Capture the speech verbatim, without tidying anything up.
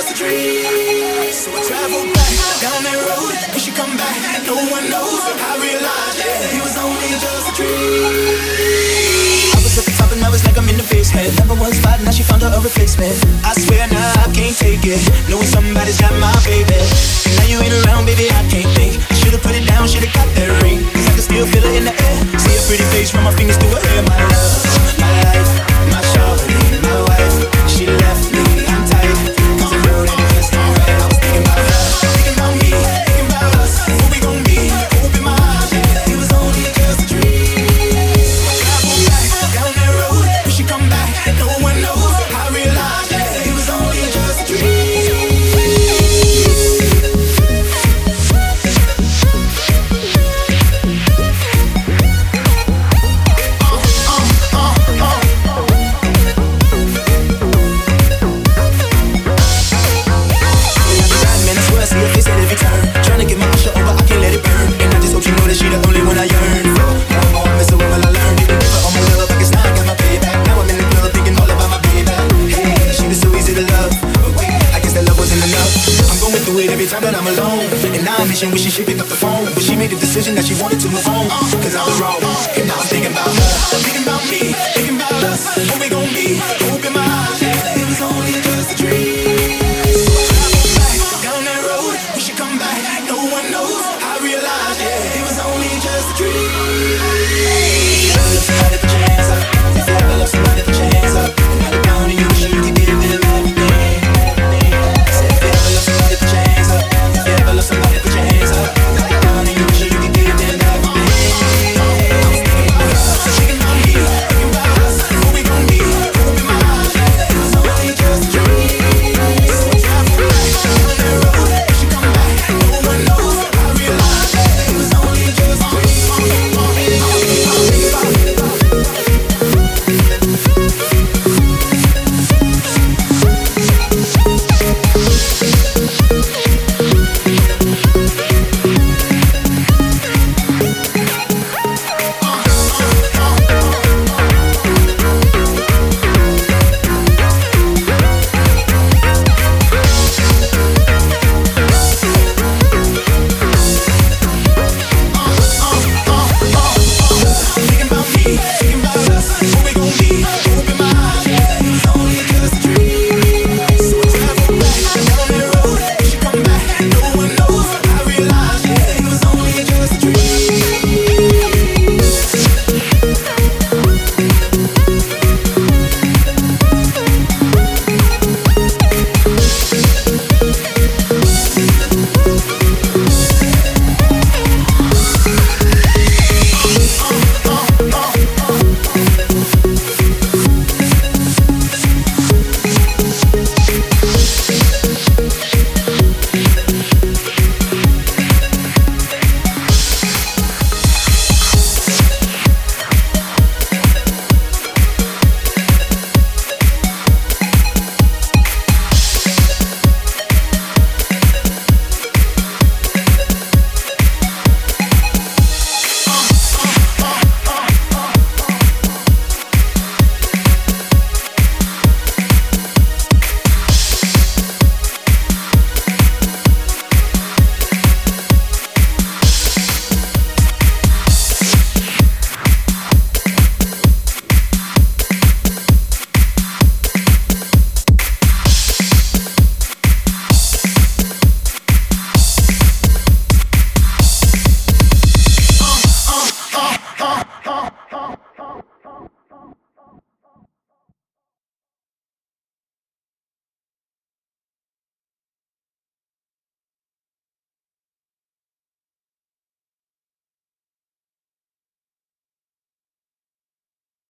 just a dream. So I traveled back down that road. When she come back, no one knows. I realized yeah, it was only just a dream. I was at the top and I was like I'm in the basement. Number one spot, now she found her a replacement. I swear now nah, I can't take it, knowing somebody's got my baby. And now you ain't around, baby, I can't think. I should've put it down, should've got that ring. Cause I can still feel it in the air. See her pretty face, run my fingers through her hair. My love, my life, my shawty, my wife. She left me, I'm tight. Cause I know that it just don't right. I was thinking about her, thinking about me, thinking about us. Who we gon' be? Open my eyes, yeah. It was only just a dream. Travel back down that road. When she come back, no one knows. I realized yeah, it was only just a dream. She the only one I yearn for. Now I'm messing with what I learned. Didn't give her all my love, I guess now I got my payback. Now I'm in the club thinking all about my baby. Hey, she was so easy to love, but wait, I guess that love wasn't enough. I'm going through it every time that I'm alone, and now I'm wishing, wishing she'd pick up the phone, but she made the decision that she wanted to move on. Cause I was wrong.